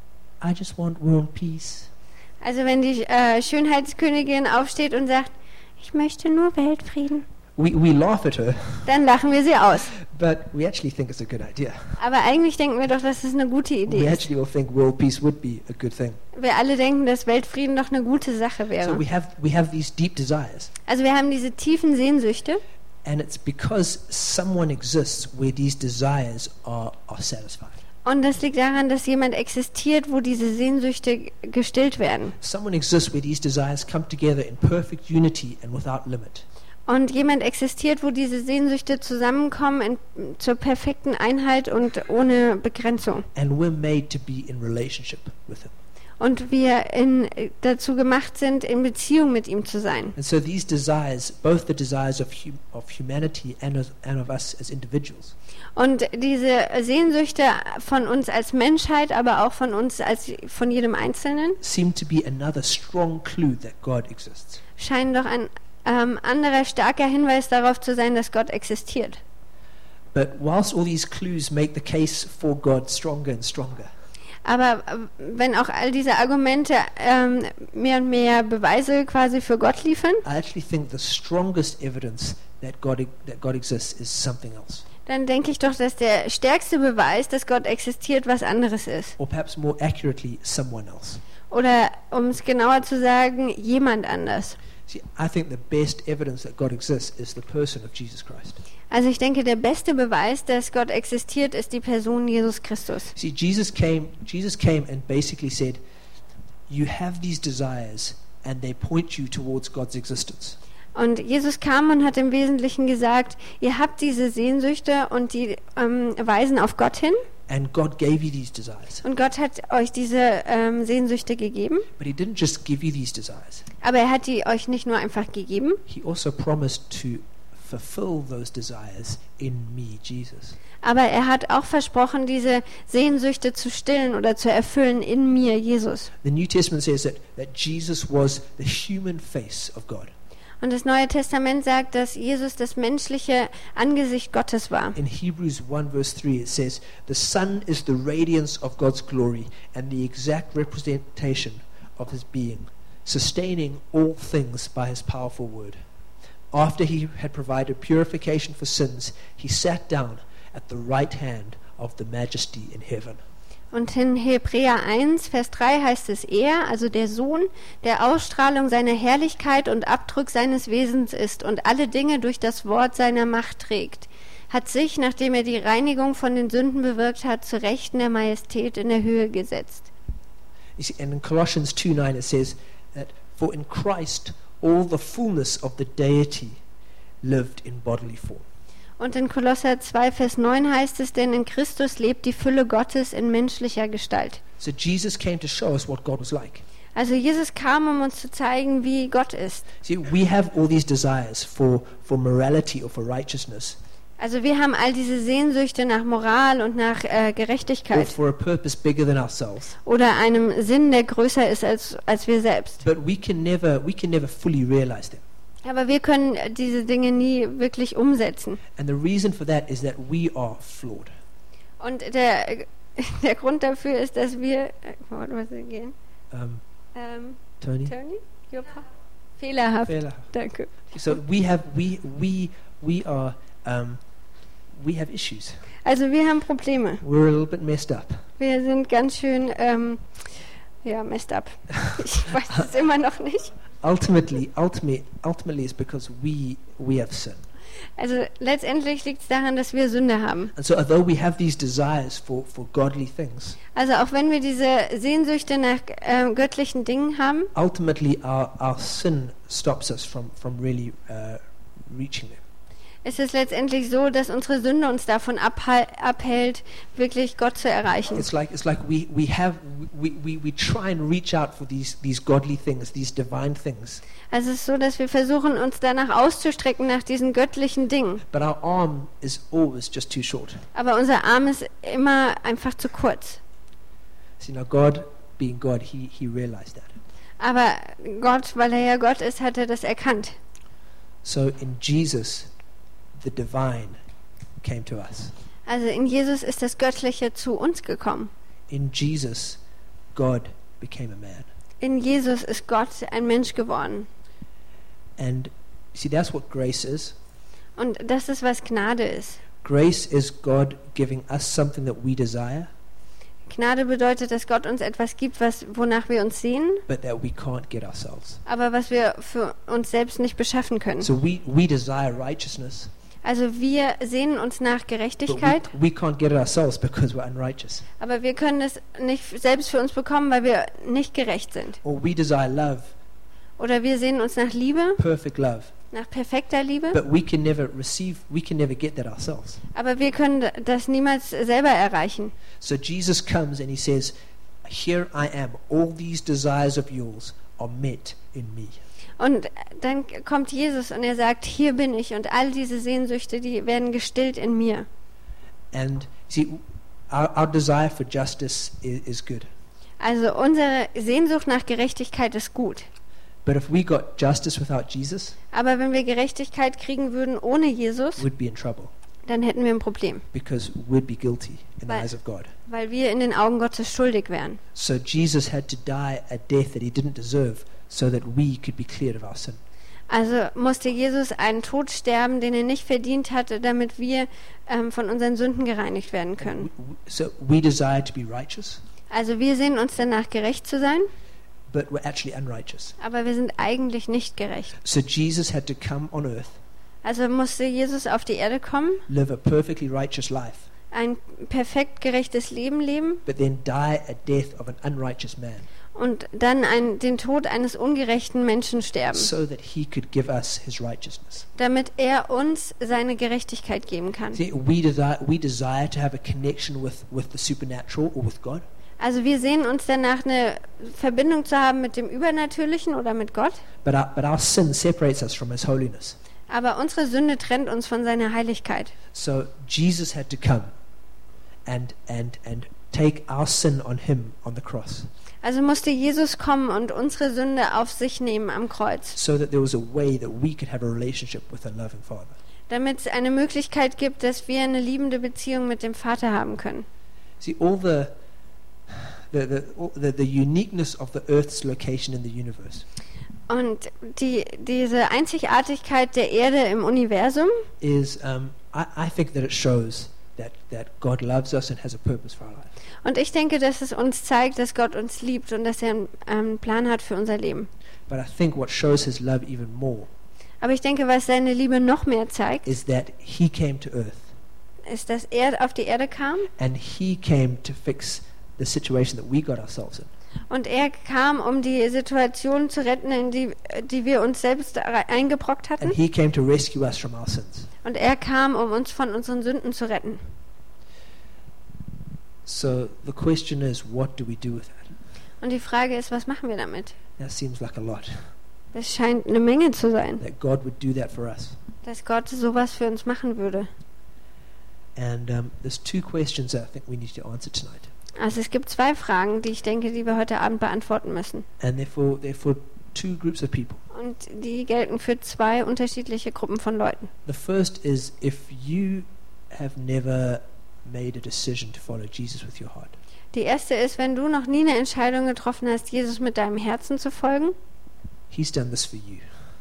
"I just want world peace," Also wenn die äh, Schönheitskönigin aufsteht und sagt, ich möchte nur Weltfrieden, we we laugh at her, dann lachen wir sie aus. but we actually think it's a good idea. Aber eigentlich denken wir doch, dass es eine gute We Idee ist. actually all think world peace would be a good thing. Wir alle denken, dass Weltfrieden doch eine gute Sache So wäre. we have we have these deep desires, Also wir haben diese tiefen Sehnsüchte and it's because someone exists where these desires are are satisfied. und das liegt daran, dass jemand existiert, wo diese Sehnsüchte gestillt werden. Someone exists where these desires come together in perfect unity and without limit. Und jemand existiert, wo diese Sehnsüchte zusammenkommen in, zur perfekten Einheit und ohne Begrenzung. And we're made to be in relationship with him. Und wir in, dazu gemacht sind, in Beziehung mit ihm zu sein. And so these desires, both the desires of, hum- of humanity and of, and of us as individuals, Und diese Sehnsüchte von uns als Menschheit, aber auch von uns als von jedem Einzelnen, seem to be another strong clue that God exists. scheinen doch ein ähm, anderer starker Hinweis darauf zu sein, dass Gott existiert. But whilst all these clues make the case for God stronger and stronger, Aber äh, wenn auch all diese Argumente ähm, mehr und mehr Beweise quasi für Gott liefern, I actually think the strongest evidence that God, that God exists is something else. dann denke ich doch, dass der stärkste Beweis, dass Gott existiert, was anderes ist. Or perhaps more accurately, someone else. Oder um es genauer zu sagen, jemand anders. See, I think the best evidence that God exists is the person of Jesus Christ. Also ich denke, der beste Beweis, dass Gott existiert, ist die Person Jesus Christus. See, Jesus came, Jesus came and basically said, you have these desires and they point you towards God's existence. Und Jesus kam und hat im Wesentlichen gesagt, ihr habt diese Sehnsüchte und die ähm, weisen auf Gott hin. And God gave you these desires. Und Gott hat euch diese ähm, Sehnsüchte gegeben. But he didn't just give you these desires. Aber er hat die euch nicht nur einfach gegeben, He also promised to fulfill those desires in me, Jesus. aber er hat auch versprochen, diese Sehnsüchte zu stillen oder zu erfüllen in mir, Jesus. The New Testament says that, that Jesus was the human face of God. Und das Neue Testament sagt, dass Jesus das menschliche Angesicht Gottes war. In Hebrews one verse three it says, the Son is the radiance of God's glory and the exact representation of his being, sustaining all things by his powerful word. After he had provided purification for sins, he sat down at the right hand of the Majesty in heaven. Und in Hebräer eins, Vers drei heißt es, er, also der Sohn, der Ausstrahlung seiner Herrlichkeit und Abdruck seines Wesens ist und alle Dinge durch das Wort seiner Macht trägt, hat sich, nachdem er die Reinigung von den Sünden bewirkt hat, zu Rechten der Majestät in der Höhe gesetzt. You see, and in Colossians two nine it says that for in Christ all the fullness of the deity lived in bodily form. Und in Kolosser zwei, Vers neun heißt es, denn in Christus lebt die Fülle Gottes in menschlicher Gestalt. So Jesus came to show us what God was like. Also Jesus kam, um uns zu zeigen, wie Gott ist. See, we have all these desires for, for morality or for righteousness, Also wir haben all diese Sehnsüchte nach Moral und nach äh, or Gerechtigkeit for a purpose bigger than ourselves. oder einem Sinn, der größer ist als, als wir selbst. But we can never we can never fully realize them. Aber wir können diese Dinge nie wirklich umsetzen. And the reason for that is that we are flawed. Und der, der Grund dafür ist, dass wir... äh, What was it again? Um, Ähm, Tony? Tony? Your pa- Fehlerhaft. Fehlerhaft. Danke. So we have we we we are um, we have issues. Also wir haben Probleme. We're a little bit messed up. Wir sind ganz schön, ähm, ja, messed up. Ich weiß es immer noch nicht. Ultimately, ultimately, ultimately, it's because we we have sin. Also letztendlich liegt es daran, dass wir Sünde haben. And so, although we have these desires for, for godly things, Also auch wenn wir diese Sehnsüchte nach ähm, göttlichen Dingen haben, ultimately our, our sin stops us from, from really uh, reaching them. ist es letztendlich so, dass unsere Sünde uns davon abhal- abhält, wirklich Gott zu erreichen. It's like it's like we, we have we, we, we try and reach out for these, these godly things, these divine things, Also es ist so, dass wir versuchen, uns danach auszustrecken nach diesen göttlichen Dingen. but our arm is always just too short. Aber unser Arm ist immer einfach zu kurz. See, now God, being God, he, he realized that. Aber Gott, weil er ja Gott ist, hat er das erkannt. So in Jesus, the divine came to us. Also in Jesus ist das Göttliche zu uns gekommen. In Jesus, God became a man. In Jesus ist Gott ein Mensch geworden. And see, that's what grace is. Und das ist, was Gnade ist. Grace is God giving us something that we desire, Gnade bedeutet, dass Gott uns etwas gibt, was, wonach wir uns sehnen, but that we can't get ourselves. aber was wir für uns selbst nicht beschaffen können. So we, we desire righteousness, Also wir sehnen uns nach but Gerechtigkeit, we, we can't get it ourselves because we're unrighteous. aber wir können es nicht selbst für uns bekommen, weil wir nicht gerecht sind. Or we desire love, Oder wir sehnen uns nach Liebe, perfect love, nach perfekter Liebe, but we can never receive, we can never get that ourselves. aber wir können das niemals selber erreichen. So Jesus comes and he says, here I am, all these desires of yours are met in me. Und dann kommt Jesus und er sagt, hier bin ich und all diese Sehnsüchte, die werden gestillt in mir. And see, our, our desire for justice is, is good. Also unsere Sehnsucht nach Gerechtigkeit ist gut. But if we got justice without Jesus, Aber wenn wir Gerechtigkeit kriegen würden ohne Jesus, we'd be in trouble dann hätten wir ein Problem, because we'd be guilty in the Weil- eyes of God. weil wir in den Augen Gottes schuldig wären. So Jesus had to die a death that he didn't deserve so that we could be cleared of our sin. Also musste Jesus einen Tod sterben, den er nicht verdient hatte, damit wir ähm, von unseren Sünden gereinigt werden können. W- w- So we desire to be righteous, Also wir sehnen uns danach, gerecht zu sein, but we're actually unrighteous. aber wir sind eigentlich nicht gerecht. So Jesus had to come on earth, Also musste Jesus auf die Erde kommen, live a perfectly righteous life, ein perfekt gerechtes Leben leben but then die a death of an unrighteous man und dann ein, den Tod eines ungerechten Menschen sterben, so that he could give us his righteousness. damit er uns seine Gerechtigkeit geben kann. See, we desire, we desire to have a connection with, with the supernatural or with God, Also wir sehnen uns danach, eine Verbindung zu haben mit dem Übernatürlichen oder mit Gott, but our, but our sin separates us from his holiness. aber unsere Sünde trennt uns von seiner Heiligkeit. So Jesus had to come and, and, and take our sin on him on the cross Also musste Jesus kommen und unsere Sünde auf sich nehmen am Kreuz, so that there was a way that we could have a relationship with a loving Father. damit es eine Möglichkeit gibt, dass wir eine liebende Beziehung mit dem Vater haben können. See, all the, the, the, all the, the uniqueness of the earth's location in the universe Und die, diese Einzigartigkeit der Erde im Universum, is, um, I, I think that it shows that, that God loves us and has a purpose for our life. und ich denke, dass es uns zeigt, dass Gott uns liebt und dass er einen, einen Plan hat für unser Leben. But I think what shows his love even more Aber ich denke, was seine Liebe noch mehr zeigt, is that he came to earth ist, dass er auf die Erde kam and he came to fix the situation that we got ourselves in. und er kam, um die Situation zu retten, in die, die wir uns selbst rei- eingebrockt hatten. And he came to rescue us from our sins. Und er kam, um uns von unseren Sünden zu retten. So the question is, what do we do with that? Und die Frage ist, was machen wir damit? That seems like a lot. Das scheint eine Menge zu sein, That God would do that for us. dass Gott sowas für uns machen würde. And um, there's two questions that I think we need to answer tonight. Also es gibt zwei Fragen, die ich denke, die wir heute Abend beantworten müssen. And they're for, they're for two groups of people. Und die gelten für zwei unterschiedliche Gruppen von Leuten. The first is if you have never made a decision to follow Jesus with your heart. Die erste ist, wenn du noch nie eine Entscheidung getroffen hast, Jesus mit deinem Herzen zu folgen. He's done this for you.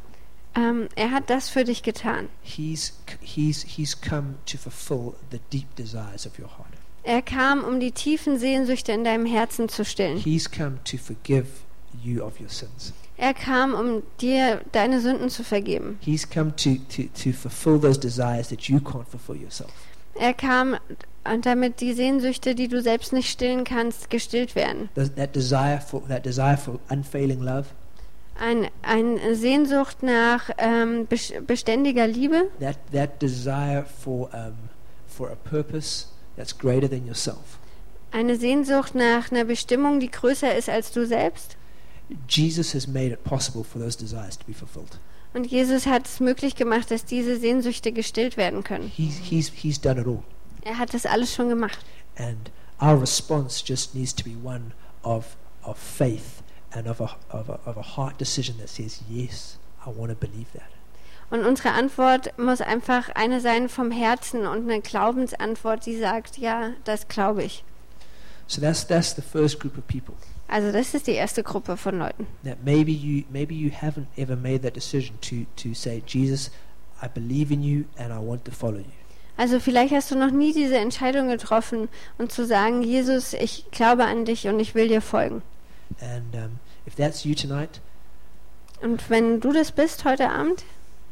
Ähm, er hat das für dich getan. He's, he's, he's come to fulfill the deep desires of your heart. Er kam, um die tiefen Sehnsüchte in deinem Herzen zu stillen. He's come to forgive you of your sins. Er kam, um dir deine Sünden zu vergeben. He's come to, to, to fulfill those desires that you can't fulfill yourself. Er kam, und damit die Sehnsüchte, die du selbst nicht stillen kannst, gestillt werden. That, that desire for that desire for unfailing love, Ein, eine Sehnsucht nach ähm, bes- beständiger Liebe, that, that desire for um, for a purpose that's greater than yourself. eine Sehnsucht nach einer Bestimmung, die größer ist als du selbst. Jesus has made it possible for those desires to be fulfilled. Und Jesus hat es möglich gemacht, dass diese Sehnsüchte gestillt werden können. He's, he's, he's done it all. Er hat das alles schon gemacht. And our response just needs to be one of, of faith and of a, of, a, of a heart decision that says, yes, I want to believe that. Und unsere Antwort muss einfach eine sein vom Herzen und eine Glaubensantwort, die sagt, ja, das glaube ich. So that's, that's the first group of people. Also das ist die erste Gruppe von Leuten. That maybe you, maybe you haven't ever made that decision to, to say, Jesus, I believe in you and I want to follow you. Also vielleicht hast du noch nie diese Entscheidung getroffen und zu sagen, Jesus, ich glaube an dich und ich will dir folgen. And um, if that's you tonight, Und wenn du das bist heute Abend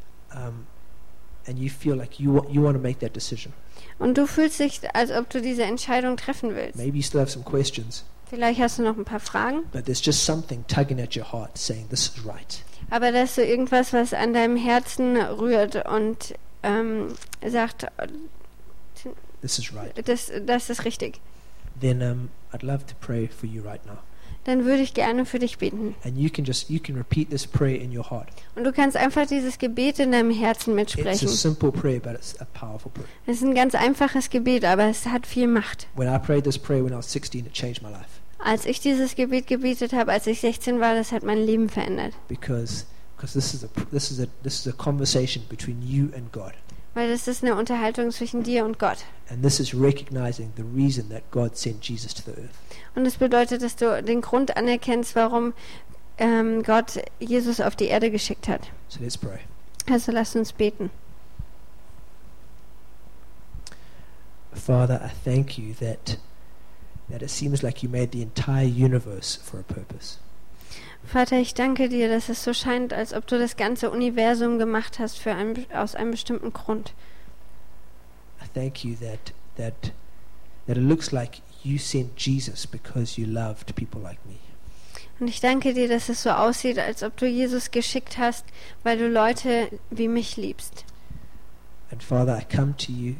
um, and you feel like you, wa- you want to make that decision, und du fühlst dich, als ob du diese Entscheidung treffen willst, maybe you still have some questions, Vielleicht hast du noch ein paar Fragen. But there's just something tugging at your heart saying, this is right. Aber das ist so irgendwas, was an deinem Herzen rührt und ähm, sagt, This is right. das, das ist richtig. Then um, I'd love to pray for you right now. Dann würde ich gerne für dich beten. And you can just, you can repeat this prayer in your heart. Und du kannst einfach dieses Gebet in deinem Herzen It's a mitsprechen. simple prayer, but it's a powerful prayer. Es ist ein ganz einfaches Gebet, aber es hat viel Macht. When I prayed this prayer when I was sixteen, it changed my life. Als ich dieses Gebet gebetet habe, als ich sechzehn war, das hat mein Leben verändert. Because because this is a this is a this is a conversation between you and God. Weil das ist eine Unterhaltung zwischen dir und Gott. And this is recognizing the reason that God sent Jesus to the earth. Und es bedeutet, dass du den Grund anerkennst, warum ähm, Gott Jesus auf die Erde geschickt hat. So let's pray. Also lasst uns beten. Father, I thank you that that it seems like you made the entire universe for a purpose. Vater, ich danke dir, dass es so scheint, als ob du das ganze Universum gemacht hast für einen, aus einem bestimmten Grund. I thank you that that that it looks like you sent Jesus because you loved people like me. Und ich danke dir, dass es so aussieht, als ob du Jesus geschickt hast, weil du Leute wie mich liebst. And Father, I come to you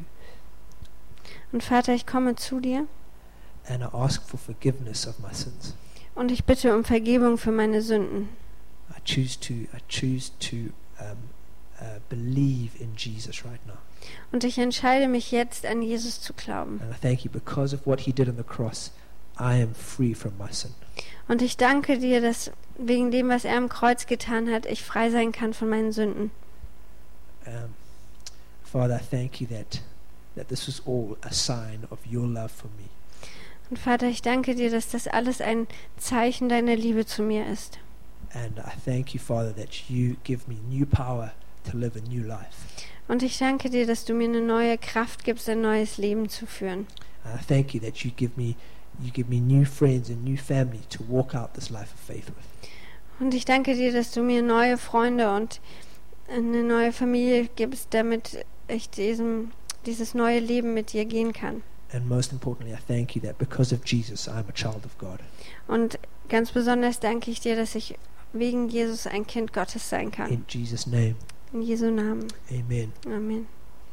Und Vater, ich komme zu dir and I ask for forgiveness of my sins. und ich bitte um Vergebung für meine Sünden. I choose to I choose to um, uh, believe in Jesus right now. Und ich entscheide mich jetzt, an Jesus zu glauben. And I thank you because of what he did on the cross, I am free from my sin. Und ich danke dir, dass wegen dem, was er am Kreuz getan hat, ich frei sein kann von meinen Sünden. Um, Father, I thank you that that this was all a sign of your love for me. Und Vater, ich danke dir, dass das alles ein Zeichen deiner Liebe zu mir ist. And I thank you, Father, that you give me new power to live a new life. Und ich danke dir, dass du mir eine neue Kraft gibst, ein neues Leben zu führen. And I thank you that you give me you give me new friends and new family to walk out this life of faith with. Und ich danke dir, dass du mir neue Freunde und eine neue Familie gibst, damit ich diesem, dieses neue Leben mit dir gehen kann. And most importantly, I thank you that because of Jesus, I'm a child of God. Und ganz besonders danke ich dir, dass ich wegen Jesus ein Kind Gottes sein kann. In Jesus' name, In Jesu Namen. amen. Amen.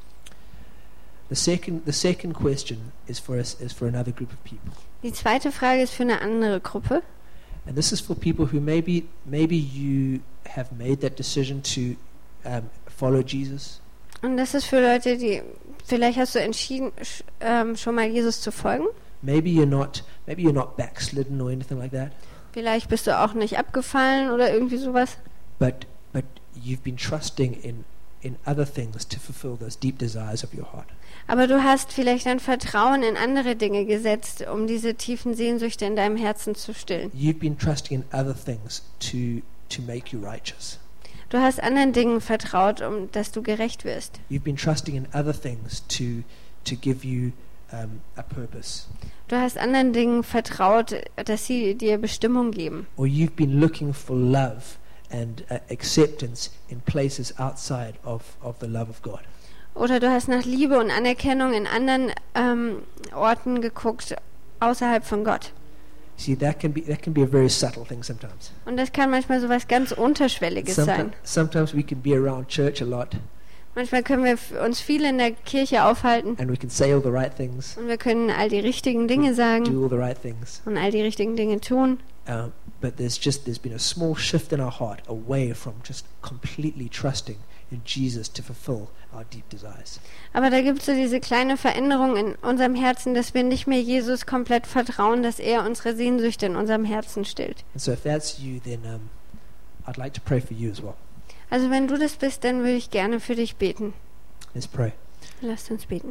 The second the second question is for us is for another group of people. Die zweite Frage ist für eine andere Gruppe. And this is for people who maybe maybe you have made that decision to um, follow Jesus. Und das ist für Leute, die vielleicht hast du entschieden, sch- ähm, schon mal Jesus zu folgen. Maybe you're not maybe you're not backslidden or anything like that. Vielleicht bist du auch nicht abgefallen oder irgendwie sowas. But but you've been trusting in in other things to fulfill those deep desires of your heart. Aber du hast vielleicht dein Vertrauen in andere Dinge gesetzt, um diese tiefen Sehnsüchte in deinem Herzen zu stillen. You've been trusting in other things to to make you righteous. Du hast anderen Dingen vertraut, um dass du gerecht wirst. You've been trusting in other things to to give you um, a purpose. Du hast anderen Dingen vertraut, dass sie dir Bestimmung geben. Or you've been looking for love and uh, acceptance in places outside of, of the love of God. Oder du hast nach Liebe und Anerkennung in anderen ähm, Orten geguckt, außerhalb von Gott. See, that can be that can be a very subtle thing sometimes. Und das kann manchmal so was ganz Unterschwelliges Someti- sein. sometimes we can be around church a lot Manchmal können wir f- uns viel in der Kirche aufhalten and we can say all the right things, und wir können all die richtigen Dinge sagen do all the right things. und all die richtigen Dinge tun. Um, but there's just there's been a small shift in our heart away from just completely trusting in Jesus to fulfill our deep desires. Aber da gibt es so diese kleine Veränderung in unserem Herzen, dass wir nicht mehr Jesus komplett vertrauen, dass er unsere Sehnsüchte in unserem Herzen stillt. And so if that's you, then um, I'd like to pray for you as well. Also wenn du das bist, dann würde ich gerne für dich beten. Let's pray. Lasst uns beten.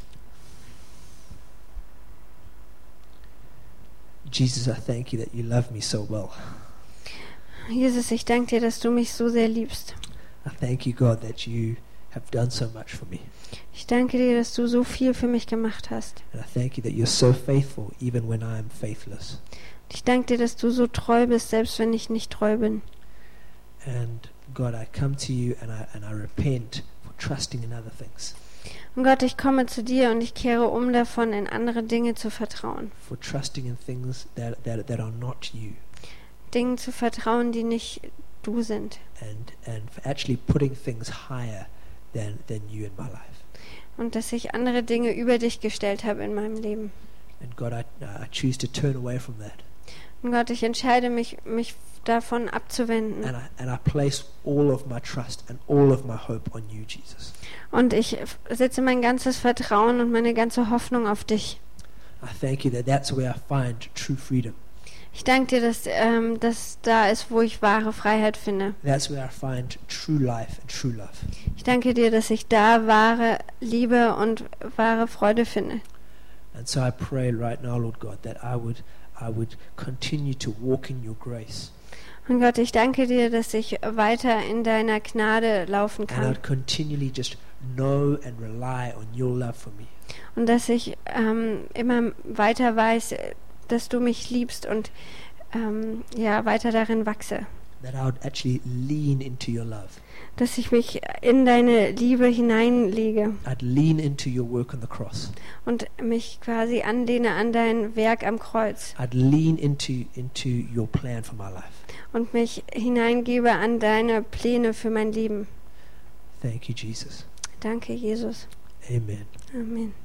Jesus, I thank you that you love me so well. Jesus, ich danke dir, dass du mich so sehr liebst. I thank you, God, that you have done so much for me. Ich danke dir, dass du so viel für mich gemacht hast. And I thank you that you're so faithful even when I am faithless. Ich danke dir, dass du so treu bist, selbst wenn ich nicht treu bin. And God, I come to you and I and I repent for trusting in other things, Und Gott, ich komme zu dir und ich kehre um davon, in andere Dinge zu vertrauen. for trusting in things that, that, that are not you, Dingen zu vertrauen, die nicht du sind. and, and for actually putting things higher than, than you in my life. Und dass ich andere Dinge über dich gestellt habe in meinem Leben. And God, I, I choose to turn away from that. Und Gott, ich entscheide mich, mich davon abzuwenden. And I, and I place all of my trust and all of my hope on you, Jesus. Und ich setze mein ganzes Vertrauen und meine ganze Hoffnung auf dich. I thank you that that's where I find true freedom. Ich danke dir, dass ähm, das da ist, wo ich wahre Freiheit finde. That's where I find true life and true love. Ich danke dir, dass ich da wahre Liebe und wahre Freude finde. And so I pray right now, Lord God, that I would I would continue to walk in your grace. Und Gott, ich danke dir, dass ich weiter in deiner Gnade laufen And kann. I'd continually just know and rely on your love for me. Und dass ich ähm, immer weiter weiß, dass du mich liebst und ähm, ja, weiter darin wachse. That I would actually lean into your love. Dass ich mich in deine Liebe hineinlege I'd lean into your work on the cross. und mich quasi anlehne an dein Werk am Kreuz I'd lean into into your plan for my life. und mich hineingebe an deine Pläne für mein Leben. Thank you, Jesus. Danke, Jesus. Amen. Amen.